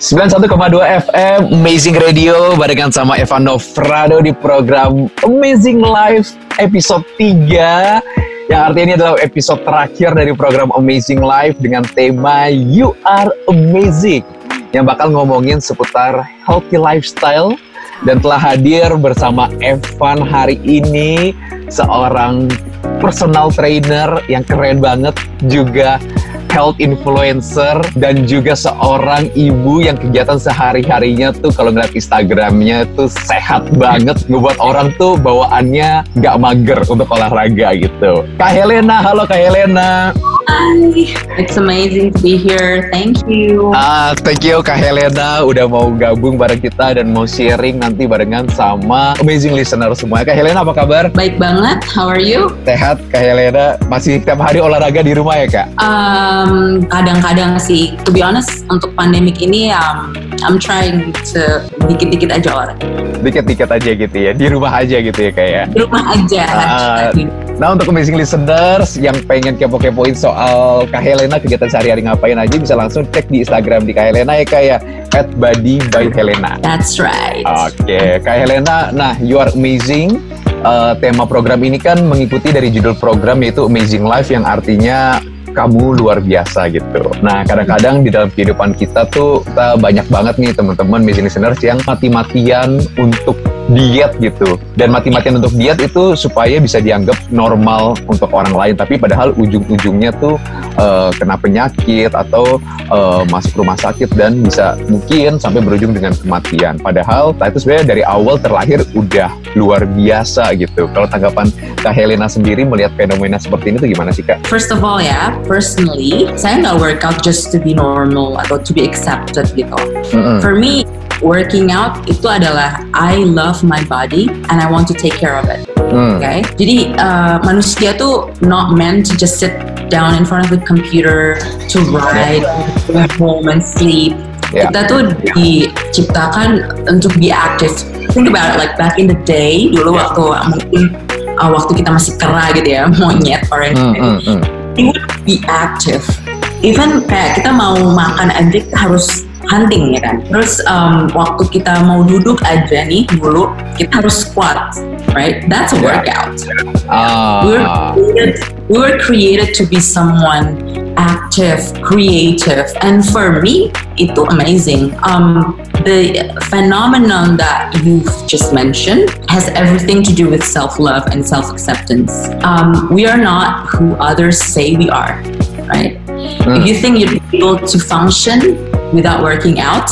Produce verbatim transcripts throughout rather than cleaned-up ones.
sembilan puluh satu koma dua F M Amazing Radio barengan sama Evan Novrado di program Amazing Life episode tiga, yang artinya ini adalah episode terakhir dari program Amazing Life dengan tema You Are Amazing, yang bakal ngomongin seputar healthy lifestyle. Dan telah hadir bersama Evan hari ini seorang personal trainer yang keren banget, juga health influencer, dan juga seorang ibu yang kegiatan sehari-harinya tuh kalau ngeliat Instagramnya tuh sehat banget, ngebuat orang tuh bawaannya gak mager untuk olahraga gitu. Kak Helena, halo Kak Helena. Hi, it's amazing to be here. Thank you. Ah, thank you Kak Helena udah mau gabung bareng kita dan mau sharing nanti barengan sama amazing listener semua. Kak Helena apa kabar? Baik banget. How are you? Sehat Kak Helena. Masih tiap hari olahraga di rumah ya Kak? Um, kadang-kadang sih. To be honest, untuk pandemik ini, um, I'm trying to dikit-dikit aja olahraga. Dikit-dikit aja gitu ya. Di rumah aja gitu ya Kak ya? Di rumah aja. Ah, nah untuk amazing listeners yang pengen kepo-kepoin soal Kak Helena, kegiatan sehari-hari ngapain aja, bisa langsung cek di Instagram di Kak Helena ya Kak ya, at body by Helena. That's right. Oke, okay. Kak Helena, nah You Are Amazing. Uh, tema program ini kan mengikuti dari judul program yaitu Amazing Life, yang artinya kamu luar biasa gitu. Nah kadang-kadang di dalam kehidupan kita tuh kita banyak banget nih teman-teman amazing listeners yang mati-matian untuk diet gitu. Dan mati-matian untuk diet itu supaya bisa dianggap normal untuk orang lain, tapi padahal ujung-ujungnya tuh uh, kena penyakit atau uh, masuk rumah sakit dan bisa mungkin sampai berujung dengan kematian. Padahal nah, itu sebenarnya dari awal terlahir udah luar biasa gitu. Kalau tanggapan Kak Helena sendiri melihat fenomena seperti ini tuh gimana sih Kak? First of all ya, personally, saya nggak workout just to be normal atau to be accepted gitu. Mm-hmm. For me, working out itu adalah I love my body and I want to take care of it. Mm. Okay? Jadi uh, manusia tuh not meant to just sit down in front of the computer to ride, go home and sleep. Yeah. Kita tuh diciptakan untuk be active. Think about it, like back in the day, dulu yeah. waktu mungkin uh, waktu kita masih kera gitu ya, monyet or anything. Mm, mm, mm. We would be active. Even kayak kita mau makan aja kita harus hunting ya kan. Terus um, waktu kita mau duduk aja nih dulu kita harus squat, right? That's a workout. Uh. We were created, we were created to be someone active, creative, and for me itu amazing. Um, the phenomenon that you've just mentioned has everything to do with self-love and self-acceptance. Um, we are not who others say we are, right? Mm. If you think you're able to function without working out,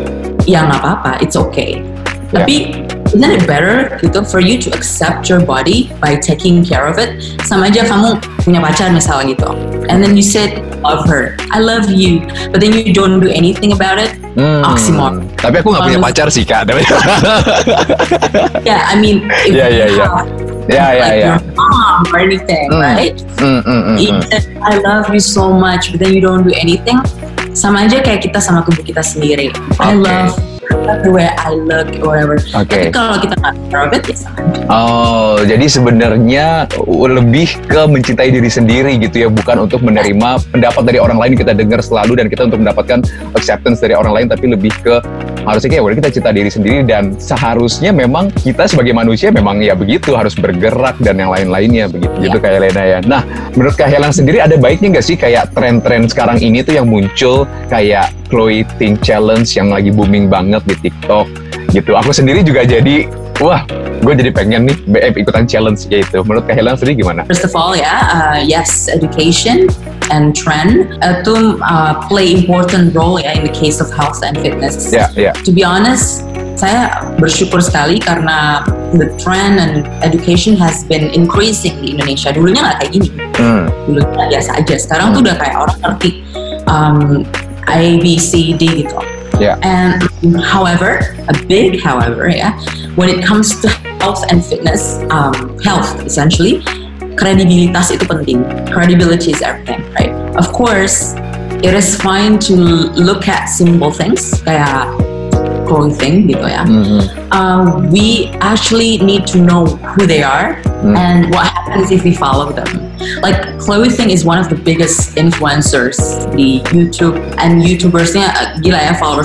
ya nggak apa-apa, it's okay. Yeah. Tapi isn't it better gitu for you to accept your body by taking care of it? Sama aja kamu punya pacar misalnya gitu, and then you said love her, I love you, but then you don't do anything about it. Hmm. Oxymoron. Tapi aku nggak punya pacar sih Kak. Yeah, I mean, if yeah, yeah, you yeah. have yeah, yeah, like yeah. your mom or anything, mm. right? Mm, mm, mm, If mm. I love you so much, but then you don't do anything, sama aja kayak kita sama tubuh kita sendiri. Okay. I love the way I look or whatever. Okay. Tapi kalau kita nggak care of it, ya sama aja. Oh, jadi sebenarnya lebih ke mencintai diri sendiri gitu ya, bukan untuk menerima pendapat dari orang lain kita dengar selalu dan kita untuk mendapatkan acceptance dari orang lain, tapi lebih ke harusnya kayak kita cinta diri sendiri, dan seharusnya memang kita sebagai manusia memang ya begitu, harus bergerak dan yang lain-lainnya begitu. Yeah. Gitu kayak Helena ya. Nah, menurut Kak Helena sendiri ada baiknya nggak sih kayak tren-tren sekarang ini tuh yang muncul kayak clothing challenge yang lagi booming banget di TikTok gitu. Aku sendiri juga jadi wah, gue jadi pengen nih B F ikutan challenge gitu. Menurut Kak Helena sendiri gimana? First of all ya, uh, yes, education and trend itu uh, play important role ya in the case of health and fitness. Yeah, yeah. To be honest, saya bersyukur sekali karena the trend and education has been increasing di Indonesia. Dulunya nggak kayak gini. Hmm. Dulunya biasa aja. Sekarang hmm. tuh udah kayak orang ngerti um, A, B, C, D gitu. Yeah. And however, a big however, yeah, when it comes to health and fitness, um, health essentially, kredibilitas itu penting. Credibility is everything, right? Of course, it is fine to look at simple things kayak clothing gitu ya. Mm-hmm. Uh, we actually need to know who they are mm. and what happens if we follow them. Like clothing is one of the biggest influencers di YouTube, and YouTubersnya uh, gila ya, followersnya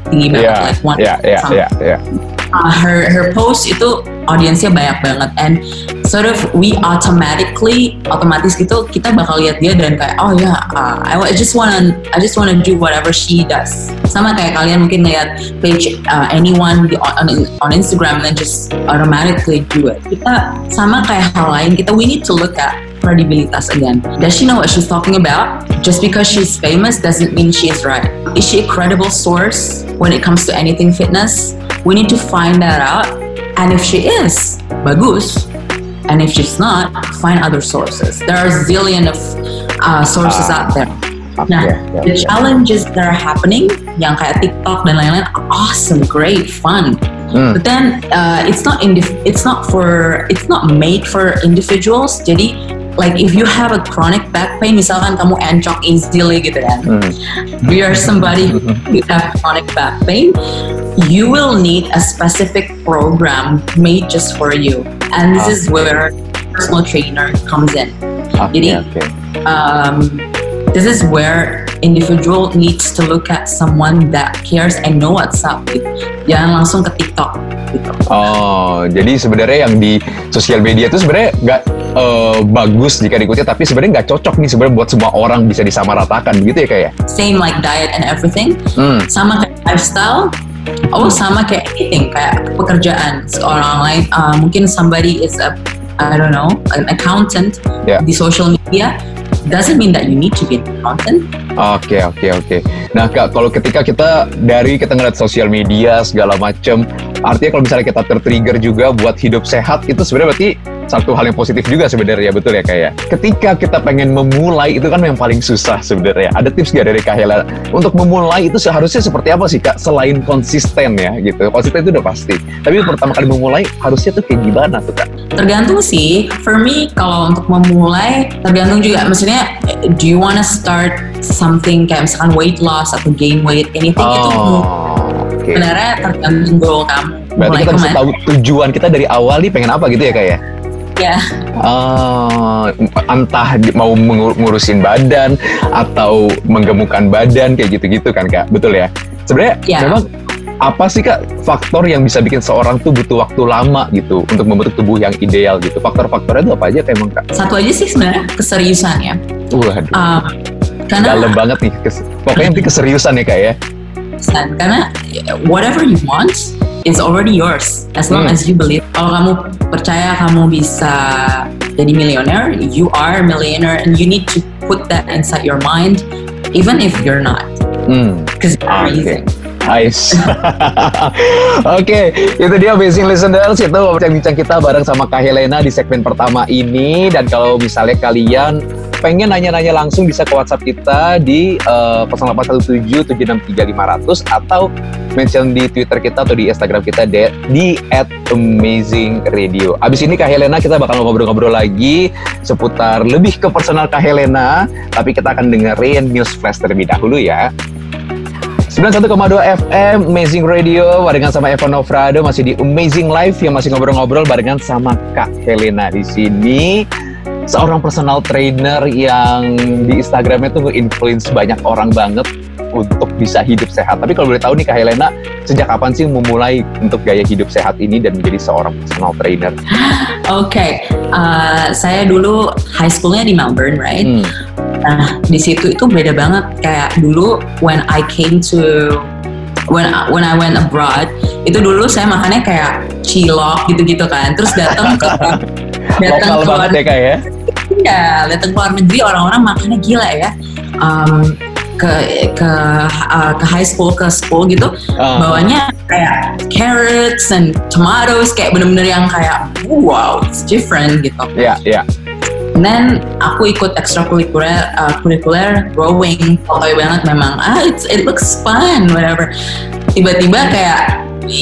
tinggi banget, yeah, like one yeah, yeah, yeah, yeah. Uh, her her post itu audiensnya banyak banget, and sort of we automatically otomatis gitu kita bakal lihat dia dan kayak oh ya yeah, uh, I, I just wanna I just wanna do whatever she does. Sama kayak kalian mungkin lihat page uh, anyone on on Instagram and just automatically do it. Kita sama kayak hal lain, kita we need to look at credibilitas again. Does she know what she's talking about? Just because she's famous doesn't mean she's right. Is she a credible source when it comes to anything fitness? We need to find that out. And if she is, bagus. And if she's not, find other sources. There are a zillion of uh, sources uh, out there. Nah, yeah, yeah, the yeah. challenges that are happening, yang kayak TikTok dan lain-lain, are awesome, great, fun. Mm. But then uh, it's not indif- it's not for it's not made for individuals. Jadi like if you have a chronic back pain, misalkan kamu encok easily gitu kan, mm. you are somebody who have chronic back pain, you will need a specific program made just for you, and this okay. is where personal trainer comes in. Okay, Jadi, okay. Um, this is where individual needs to look at someone that cares and know what's up. Gitu. Jangan langsung ke TikTok. Gitu. Oh, jadi sebenarnya yang di sosial media itu sebenarnya nggak uh, bagus jika diikuti, tapi sebenarnya nggak cocok nih sebenarnya buat semua orang bisa disamaratakan, gitu ya kayak. Same like diet and everything. Hmm. Sama kayak lifestyle. Oh, sama kayak anything, kayak pekerjaan seorang lain. Uh, mungkin somebody is a, I don't know, an accountant yeah. di social media. Doesn't mean that you need to be an accountant. Oke, okay, oke, okay, oke. Okay. Nah, Kak, kalau ketika kita dari kita ngeliat sosial media segala macam, artinya kalau misalnya kita tertrigger juga buat hidup sehat, itu sebenarnya berarti satu hal yang positif juga sebenarnya, betul ya Kak ya? Ketika kita pengen memulai, itu kan yang paling susah sebenarnya. Ada tips nggak dari Kak Hela? Untuk memulai itu seharusnya seperti apa sih Kak? Selain konsisten ya gitu. Konsisten itu udah pasti. Tapi pertama kali memulai, harusnya tuh kayak gimana tuh Kak? Tergantung sih. For me, kalau untuk memulai, tergantung juga. Maksudnya, do you wanna start something kayak misalkan weight loss atau gain weight, anything oh, itu okay. Sebenarnya tergantung goal kamu. Berarti kita bisa tahu tujuan kita dari awal nih pengen apa gitu ya Kak ya? Ya. Uh, entah mau ngurusin badan atau menggemukkan badan kayak gitu-gitu kan Kak, betul ya? Sebenarnya ya. Memang apa sih Kak faktor yang bisa bikin seorang tuh butuh waktu lama gitu untuk membentuk tubuh yang ideal gitu? Faktor-faktornya itu apa aja emang Kak? Satu aja sih sebenarnya keseriusan ya. Waduh. Uh, karena dalam banget nih, kes- pokoknya nanti keseriusan ya Kak ya. Karena whatever you want is already yours as long hmm. as you believe. Kalau kamu percaya kamu bisa jadi millionaire, you are a millionaire, and you need to put that inside your mind, even if you're not. Because hmm. you're amazing. Nice. Oke, okay, itu dia Amazing Listeners. Itu bincang-bincang kita bareng sama Kak Helena di segmen pertama ini. Dan kalau misalnya kalian pengen nanya-nanya langsung, bisa ke WhatsApp kita di uh, nol delapan satu tujuh tujuh enam tiga lima nol nol atau mention di Twitter kita atau di Instagram kita de, di at amazing radio. Abis ini Kak Helena kita bakal ngobrol-ngobrol lagi seputar lebih ke personal Kak Helena, tapi kita akan dengerin news flash terlebih dahulu ya. sembilan puluh satu koma dua F M Amazing Radio barengan sama Evan Nofrado masih di Amazing Life yang masih ngobrol-ngobrol barengan sama Kak Helena di sini. Seorang personal trainer yang di Instagramnya tuh nge-influence banyak orang banget untuk bisa hidup sehat. Tapi kalau boleh tahu nih Kak Helena, sejak kapan sih memulai untuk gaya hidup sehat ini dan menjadi seorang personal trainer? Oke, okay. uh, saya dulu high schoolnya di Melbourne, right? Hmm. Nah, di situ itu beda banget. Kayak dulu when I came to when I, when I went abroad, itu dulu saya makannya kayak cilok gitu-gitu kan. Terus datang ke datang lokal banget ya Kak ya? Iya, datang ke luar negeri orang-orang makannya gila ya. Um, ke ke uh, ke high school ke school gitu, uh. bawanya kayak carrots and tomatoes, kayak bener-bener yang kayak wow, it's different gitu. Iya, yeah, iya. Yeah. And then aku ikut ekstrakurikuler, uh, kurikuler rowing, pokoknya banget memang. Ah, it's, it looks fun, whatever. Tiba-tiba kayak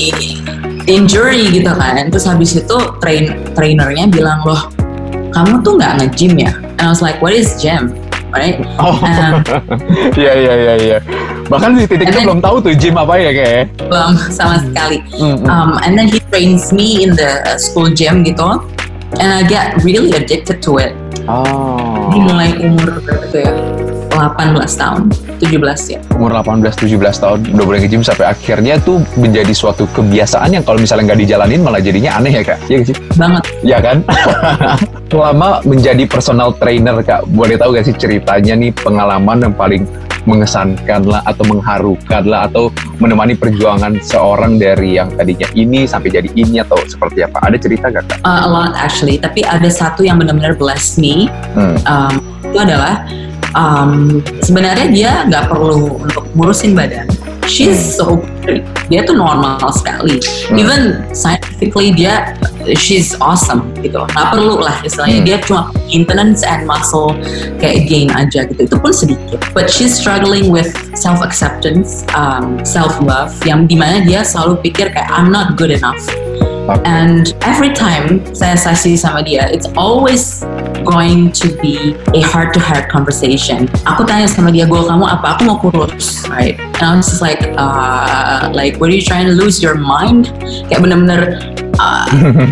injury gitu kan. Terus habis itu train trainernya bilang, loh, kamu tuh nggak nge-gym ya? And I was like, what is gym? Right? Oh, iya iya iya iya. Bahkan di titik itu belum tahu tuh gym apa ya kayak. Belum sama sekali. Mm-hmm. Um, and then he trains me in the school gym gitu. And I get really addicted to it. Oh. Dimulai umur berapa tuh ya? delapan belas tahun. tujuh belas ya. Umur delapan belas tujuh belas tahun udah mulai nge-gym sampai akhirnya tuh menjadi suatu kebiasaan yang kalau misalnya nggak dijalanin malah jadinya aneh ya Kak? Iya gak sih? Banget. Iya kan? Selama menjadi personal trainer Kak, boleh tahu gak sih ceritanya nih, pengalaman yang paling mengesankan lah atau mengharukan lah atau menemani perjuangan seorang dari yang tadinya ini sampai jadi ini atau seperti apa? Ada cerita gak Kak? Uh, a lot actually, tapi ada satu yang benar-benar bless me. Hmm. Um, itu adalah um, sebenarnya dia nggak perlu untuk ngurusin badan. She's so pretty. Dia tuh normal sekali. Hmm. Even scientifically dia she's awesome gitu. Nggak perlu lah istilahnya. Hmm. Dia cuma maintenance and muscle kayak gain aja gitu. Itu pun sedikit. But she's struggling with self acceptance, um, self love. Yang dimana dia selalu pikir kayak I'm not good enough. Okay. And every time saya sesi sama dia, it's always going to be a heart-to-heart conversation. Aku tanya sama dia, goal kamu apa? Aku mau kurus, right? And I was just like, uh, like, what are you trying to lose your mind? Kayak bener-bener, uh,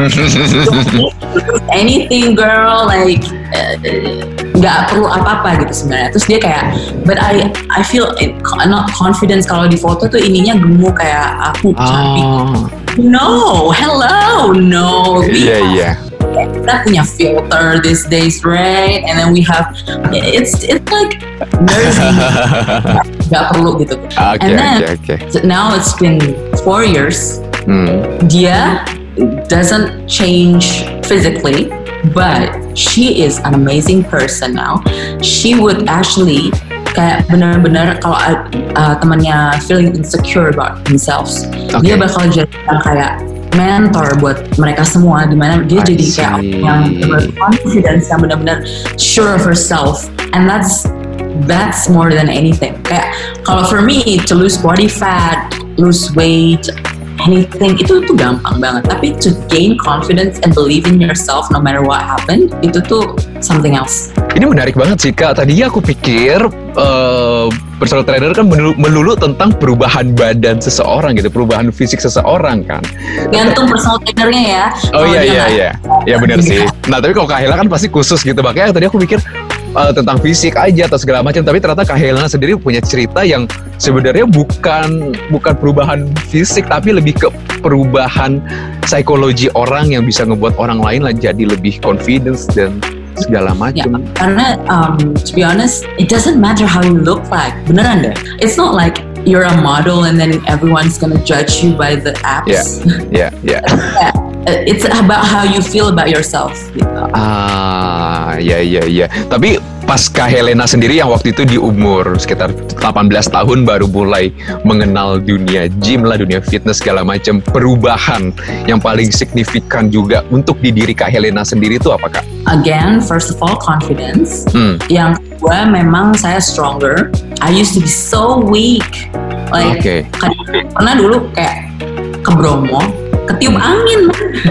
anything girl, like, nggak uh, perlu apa-apa gitu sebenarnya. Terus dia kayak, but I I feel it, not confidence kalau di foto tuh ininya gemuk kayak aku cantik. Oh. No, hello, no. Iya, iya. Kita punya filter these days, right? And then we have, it's it's like nursing. Gak perlu gitu. Okay, and then okay, okay. now it's been four years. Hmm. Dia doesn't change physically, but she is an amazing person now. She would actually kayak benar-benar kalau uh, temannya feeling insecure about themselves, okay. Dia bakal jadi kayak mentor buat mereka semua, dimana dia I jadi see. Kayak yang confidence, yang benar-benar sure of herself, and that's that's more than anything. Kayak kalau for me to lose body fat, lose weight, anything itu tuh gampang banget. Tapi to gain confidence and believe in yourself no matter what happened, itu tuh something else. Ini menarik banget sih Kak. Tadinya aku pikir uh, personal trainer kan melulu, melulu tentang perubahan badan seseorang gitu, perubahan fisik seseorang kan. Gantung personal trainernya ya. Oh iya iya iya. Ya benar sih. Nah tapi kalau Kak Helena kan pasti khusus gitu. Makanya tadi aku pikir uh, tentang fisik aja atau segala macam. Tapi ternyata Kak Helena sendiri punya cerita yang sebenarnya bukan bukan perubahan fisik, tapi lebih ke perubahan psikologi orang yang bisa ngebuat orang lain lah jadi lebih confidence dan segala macam. Ya, karena um, to be honest, it doesn't matter how you look like. Beneran deh. It's not like you're a model and then everyone's gonna judge you by the apps. Yeah, yeah, yeah. It's about how you feel about yourself. Gitu. Ah, ya, ya, ya. Tapi pas Kak Helena sendiri yang waktu itu di umur sekitar delapan belas tahun baru mulai mengenal dunia gym lah, dunia fitness segala macam. Perubahan yang paling signifikan juga untuk di diri Kak Helena sendiri itu apa Kak? Again, first of all, confidence. Hmm. Yang kedua, memang saya stronger. I used to be so weak. Like, okay. Pernah dulu kayak ke Bromo, ketiup angin.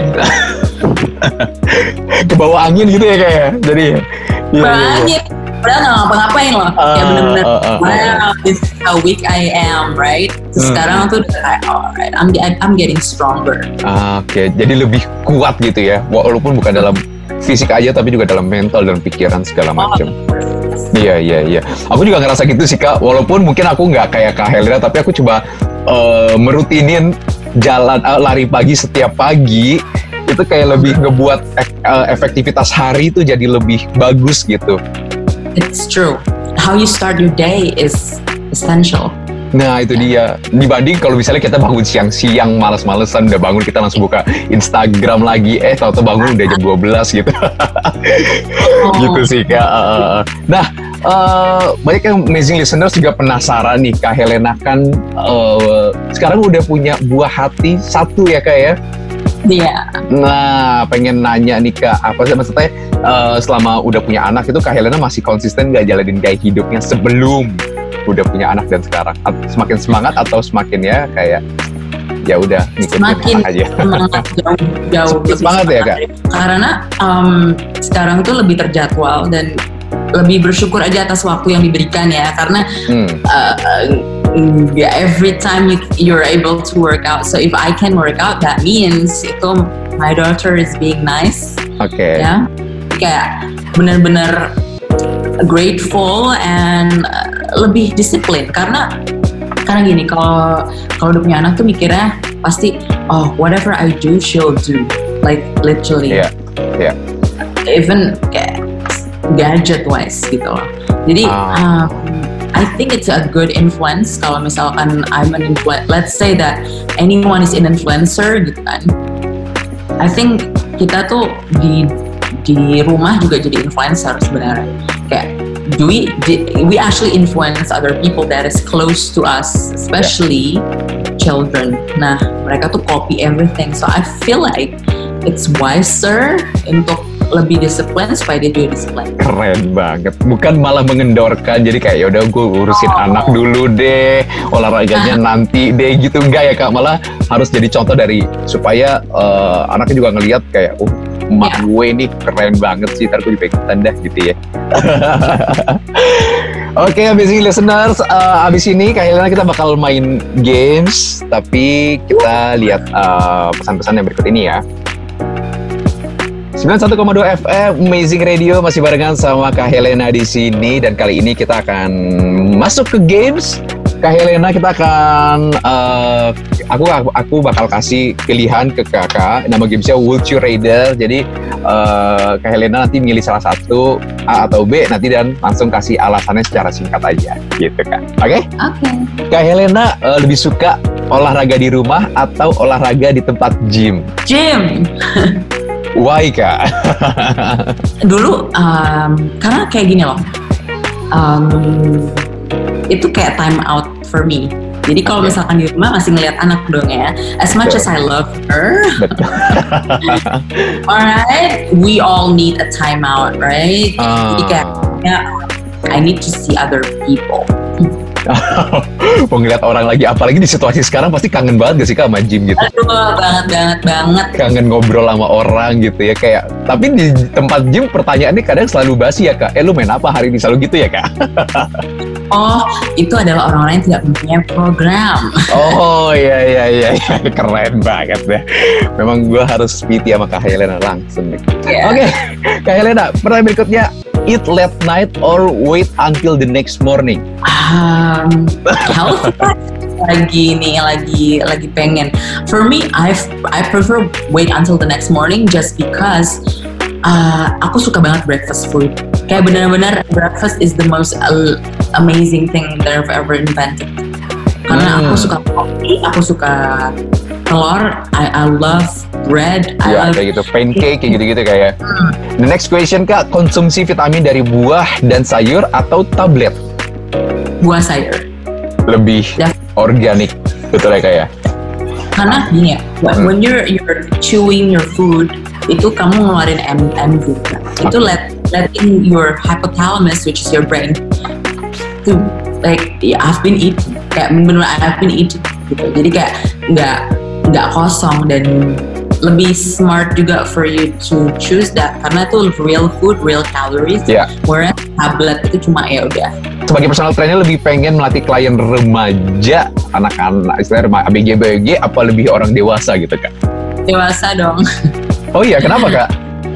Ke bawah angin gitu ya kayak. Jadi ke bawah angin. Padahal gak ngapa-ngapain loh. Uh, ya bener-bener, uh, uh, wow, this is how weak I am, right? Terus uh, sekarang tuh udah kayak, alright, I'm, I'm getting stronger. Uh, Oke, okay. Jadi lebih kuat gitu ya. Walaupun bukan dalam fisik aja, tapi juga dalam mental dan pikiran segala macam. Iya, iya, iya. Aku juga ngerasa gitu sih Kak. Walaupun mungkin aku nggak kayak Kak Helena, tapi aku coba uh, merutinin jalan uh, lari pagi setiap pagi. Itu kayak lebih ngebuat uh, efektivitas hari itu jadi lebih bagus gitu. It's true. How you start your day is essential. Nah itu dia. Dibanding kalau misalnya kita bangun siang-siang, malas-malesan, udah bangun kita langsung buka Instagram lagi, eh tau-tau bangun udah jam dua belas gitu. Oh. Gitu sih Kak. Nah uh, banyak yang amazing listeners juga penasaran nih, Kak Helena kan uh, sekarang udah punya buah hati satu ya Kak ya? Iya. Yeah. Nah pengen nanya nih Kak, apa sih maksudnya uh, selama udah punya anak itu Kak Helena masih konsisten gak jalanin gaya hidupnya sebelum udah punya anak dan sekarang? Semakin semangat atau semakin ya kayak ya udah ngikutin semakin aja? Semangat jauh jauh semangat, semangat ya Kak? Karena um, sekarang tuh lebih terjadwal dan lebih bersyukur aja atas waktu yang diberikan ya, karena hmm. uh, yeah, every time you, you're able to work out, so if I can work out, that means itu my daughter is being nice. Oke. Okay. Ya, kayak benar-benar grateful and uh, lebih disiplin karena karena gini, kalau kalau udah punya anak tuh mikirnya pasti oh whatever I do she'll do, like literally. Yeah. Yeah. Even kayak gadget wise gitu loh. Jadi uh. um, I think it's a good influence kalau misalkan I'm an influencer. Let's say that anyone is an influencer gitu kan. I think kita tuh di di rumah juga jadi influencer sebenarnya. Kayak do we we actually influence other people that is close to us, especially yeah. children. Nah, mereka tuh copy everything. So I feel like it's wiser untuk lebih disiplin supaya dia juga disiplin. Keren banget. Bukan malah mengendorkan. Jadi kayak yaudah gue urusin oh. anak dulu deh, olahraganya ah. nanti deh gitu. Enggak ya Kak, malah harus jadi contoh dari supaya uh, anaknya juga ngelihat kayak oh emak yeah. gue ini keren banget sih, ntar gue juga ikutan dah gitu ya. Oke, okay, amazing listeners, uh, abis ini kayaknya kita bakal main games, tapi kita lihat uh, pesan-pesan yang berikut ini ya. sembilan puluh satu koma dua F M Amazing Radio masih barengan sama Kak Helena di sini, dan kali ini kita akan masuk ke games. Kak Helena, kita akan uh, aku aku bakal kasih pilihan ke Kakak. Nama gamesnya Would You Rather. Jadi uh, Kak Helena nanti milih salah satu A atau B nanti dan langsung kasih alasannya secara singkat aja, gitu kan? Oke? Okay? Oke. Okay. Kak Helena uh, lebih suka olahraga di rumah atau olahraga di tempat gym? Gym. Why Kak? Dulu um, karena kayak gini loh. Um, itu kayak time out for me. Jadi kalau okay. misalkan di rumah masih ngeliat anak dong ya. As much Betul. as I love her, alright, we all need a time out, right? Uh. Jadi kayak ya, I need to see other people. Mau ngeliat orang lagi, apalagi di situasi sekarang pasti kangen banget gak sih Kak sama gym gitu? Aduh, banget banget banget. Kangen ngobrol sama orang gitu ya kayak. Tapi di tempat gym pertanyaannya kadang selalu basi ya Kak. Eh lu main apa hari ini, selalu gitu ya Kak? Oh, itu adalah orang-orang yang tidak mempunyai program. Oh iya iya iya, keren banget deh. Memang gue harus P T sama Kak Helena langsung nih. Yeah. Oke, okay. Kak Helena, pertanyaan berikutnya. Eat late night or wait until the next morning? Um, health lagi nih, lagi lagi pengen. For me, I I prefer wait until the next morning just because uh, aku suka banget breakfast food. Kayak benar-benar breakfast is the most uh, amazing thing that I've ever invented. Karena hmm. aku suka kopi, aku suka telur, I, I love bread, I ya, love kayak gitu, pancake kayak gitu-gitu kayak. Hmm. The next question Kak, konsumsi vitamin dari buah dan sayur atau tablet? Buah sayur. Lebih ya. Organik, betul ya Kak ya? Karena gini ya, hmm. when you're you're chewing your food, itu kamu ngeluarin M M juga. Okay. Itu let letting your hypothalamus, which is your brain, to like yeah, I've been eating, kayak bener-bener I've been eating gitu. Jadi kayak nggak nggak kosong, dan lebih smart juga for you to choose that karena itu real food, real calories. Yeah. Whereas tablet itu cuma ya udah. Sebagai personal trainer lebih pengen melatih klien remaja, anak-anak, istilahnya A B G B G, apa lebih orang dewasa gitu Kak? Dewasa dong. Oh iya, kenapa Kak?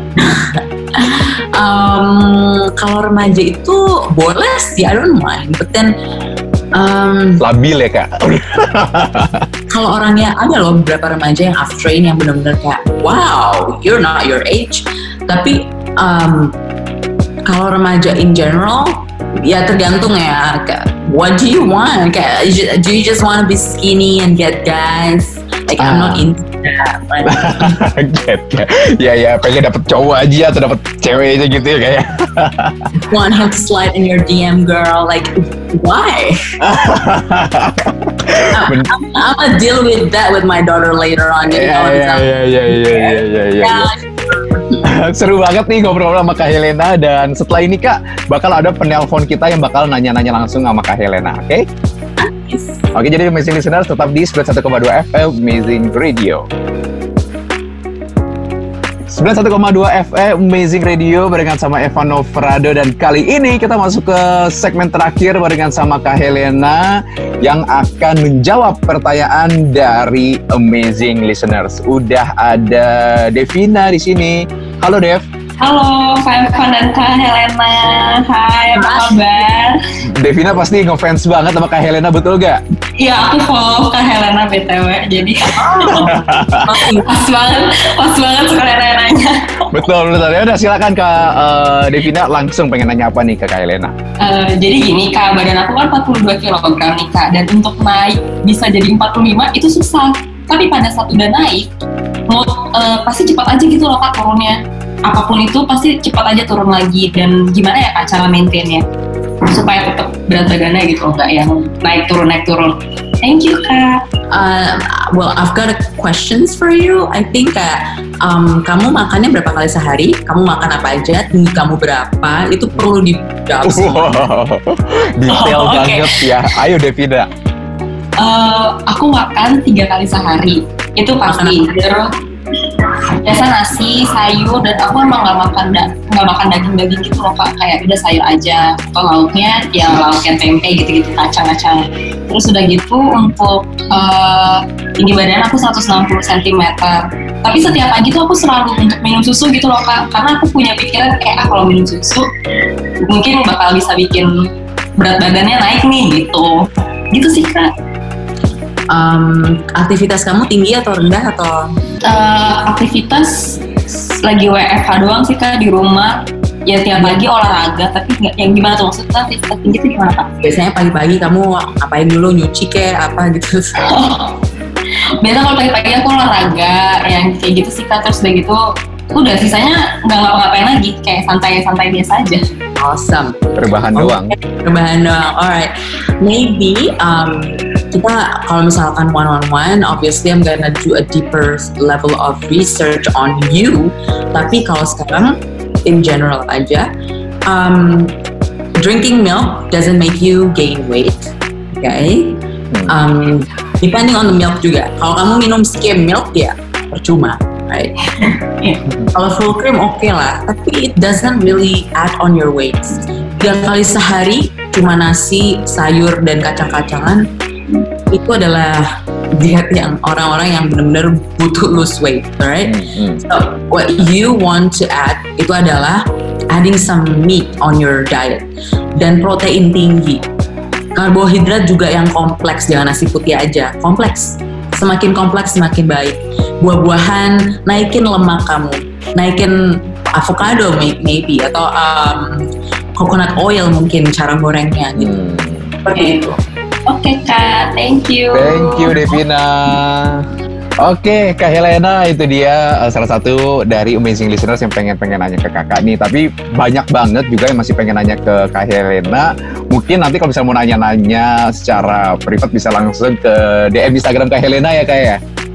um, kalau remaja itu boleh sih, I don't mind. But then um, labil ya Kak? Kalau orangnya, ada loh beberapa remaja yang I've trained yang benar-benar kayak wow, you're not your age. Tapi um, kalau remaja in general, ya tergantung ya. Kayak, what do you want? Kayak, do you just want to be skinny and get guys? Like ah. I'm not into that. Get, get. Ya ya, pengen dapet cowok aja atau dapet cewek aja gitu ya kayak. Want him to slide in your D M, girl? Like why? I'm, I'm, I'm gonna deal with that with my daughter later on. Iya iya iya iya iya iya iya. Seru banget nih ngobrol sama Kak Helena, dan setelah ini Kak bakal ada penelpon kita yang bakal nanya-nanya langsung sama Kak Helena, oke? Okay? Yes. Oke, jadi Amazing Listeners tetap di sembilan puluh satu koma dua F M Amazing Radio. sembilan puluh satu koma dua F M Amazing Radio barengan sama Evan Novrado, dan kali ini kita masuk ke segmen terakhir barengan sama Kak Helena yang akan menjawab pertanyaan dari Amazing Listeners. Udah ada Devina di sini. Halo Dev. Halo, Kak Evan dan Kak Helena. Hai, apa kabar? Devina pasti ngefans banget sama Kak Helena, betul gak? Iya, aku follow Kak Helena B T W, jadi pas banget, pas banget sekalian nanya. Betul, betul. Ya udah silakan Kak uh, Devina, langsung pengen nanya apa nih ke Kak Helena? Uh, jadi gini Kak, badan aku kan empat puluh dua kilogram nih Kak, dan untuk naik bisa jadi empat puluh lima itu susah. Tapi pada saat udah naik, mau uh, pasti cepat aja gitu loh Kak turunnya. Apapun itu pasti cepat aja turun lagi. Dan gimana ya Kak cara maintainnya supaya tetap berat badannya gitu, nggak yang naik turun naik turun. Thank you Kak. Uh, well, I've got a questions for you. I think uh, um, kamu makannya berapa kali sehari? Kamu makan apa aja? Tinggi kamu berapa? Itu perlu dijawab semua. Wow, detail Oh, banget okay. ya. Ayo Devina. Uh, aku makan tiga kali sehari. Itu pasti. Biasa nasi, sayur, dan aku emang nggak makan da- nggak makan daging-daging gitu loh Kak. Kayak udah sayur aja. Atau lauknya ya lauknya tempe gitu-gitu, kacang-kacang. Terus udah gitu untuk uh, tinggi badan aku seratus enam puluh sentimeter. Tapi setiap pagi tuh aku selalu untuk minum susu gitu loh Kak. Karena aku punya pikiran kayak ah kalau minum susu mungkin bakal bisa bikin berat badannya naik nih gitu. Gitu sih Kak. Um, aktivitas kamu tinggi atau rendah atau? Uh, aktivitas lagi W F H doang sih Kak di rumah. Ya tiap pagi olahraga, tapi nggak yang gimana tuh maksudnya aktivitas tinggi itu gimana Kak? Biasanya pagi-pagi kamu ngapain dulu, nyuci kayak apa gitu? Biasa kalau pagi-pagi aku olahraga yang kayak gitu sih Kak, terus udah gitu udah sisanya nggak ngapa-ngapain lagi, kayak santai-santai biasa aja. Awesome. Rebahan Okay. doang. Rebahan doang. Alright. Maybe um, kita kalau misalkan one on one, obviously I'm gonna do a deeper level of research on you. Tapi kalau sekarang in general aja, um, drinking milk doesn't make you gain weight. Okay. Um, depending on the milk juga. Kalau kamu minum skim milk ya percuma. Right. Kalau full cream oke okay lah, tapi it doesn't really add on your weight. Tiga kali sehari cuma nasi, sayur dan kacang-kacangan itu adalah diet yang orang-orang yang benar-benar butuh lose weight, right? Mm-hmm. So what you want to add itu adalah adding some meat on your diet dan protein tinggi. Karbohidrat juga yang kompleks, jangan nasi putih aja, kompleks. Semakin kompleks semakin baik. Buah-buahan, naikin lemak kamu, naikin avocado maybe atau um, coconut oil mungkin cara gorengnya gitu. Hmm. Seperti itu. Oke okay, Kak, thank you. Thank you Devina. Oke, Kak Helena, itu dia uh, salah satu dari amazing listeners yang pengen-pengen nanya ke kakak nih. Tapi banyak banget juga yang masih pengen nanya ke Kak Helena. Mungkin nanti kalau misalnya mau nanya-nanya secara privat bisa langsung ke D M Instagram Kak Helena ya Kak ya?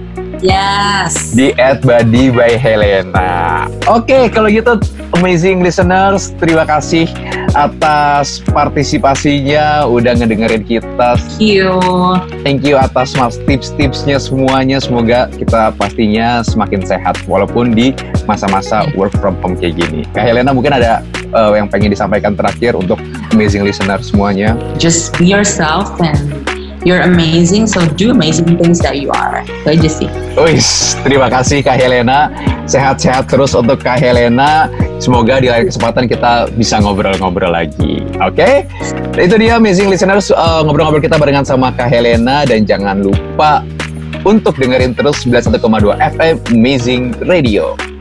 Yes. Di at body by Helena. Oke, kalau gitu amazing listeners, terima kasih atas partisipasinya, udah ngedengerin kita. Thank you. Thank you atas mas tips-tipsnya semuanya. Semoga kita pastinya semakin sehat walaupun di masa-masa work from home kayak gini. Kak Helena mungkin ada uh, yang pengen disampaikan terakhir untuk amazing listener semuanya. Just be yourself and you're amazing, so do amazing things that you are. Itu aja sih. Wis, terima kasih Kak Helena. Sehat-sehat terus untuk Kak Helena. Semoga di lain kesempatan kita bisa ngobrol-ngobrol lagi. Oke? Okay? Itu dia amazing listeners, uh, ngobrol-ngobrol kita barengan sama Kak Helena. Dan jangan lupa untuk dengerin terus sembilan puluh satu koma dua F M Amazing Radio.